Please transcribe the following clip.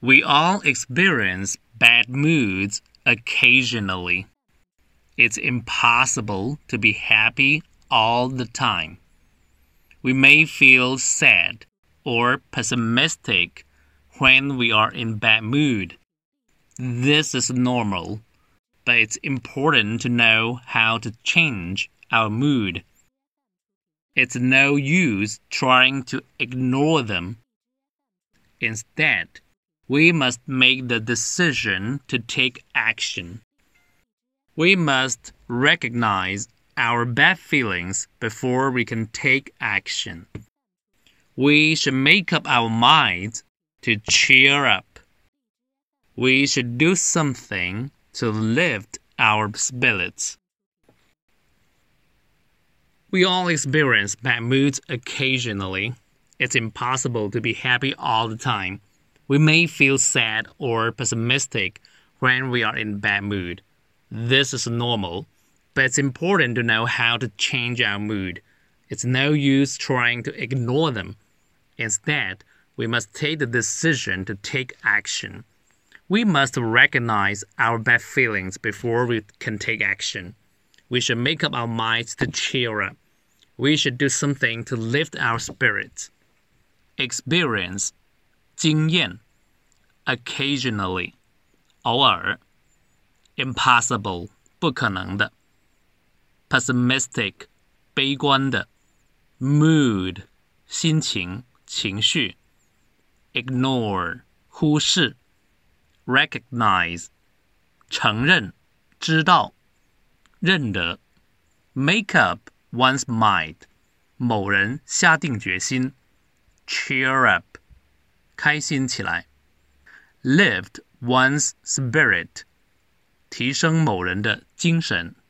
We all experience bad moods occasionally. It's impossible to be happy all the time. We may feel sad or pessimistic when we are in bad mood. This is normal, but it's important to know how to change our mood. It's no use trying to ignore them. Instead, we must make the decision to take action. We must recognize our bad feelings before we can take action. We should make up our minds to cheer up. We should do something to lift our spirits. We all experience bad moods occasionally. It's impossible to be happy all the time. We may feel sad or pessimistic when we are in bad mood. This is normal, but it's important to know how to change our mood. It's no use trying to ignore them. Instead, we must take the decision to take action. We must recognize our bad feelings before we can take action. We should make up our minds to cheer up. We should do something to lift our spirits. Experience 经验 occasionally 偶尔 impossible 不可能的 pessimistic 悲观的 mood 心情情绪 ignore 忽视 recognize 承认知道认得 make up one's mind 某人下定决心 cheer up 开心起来 lift one's spirit 提升某人的精神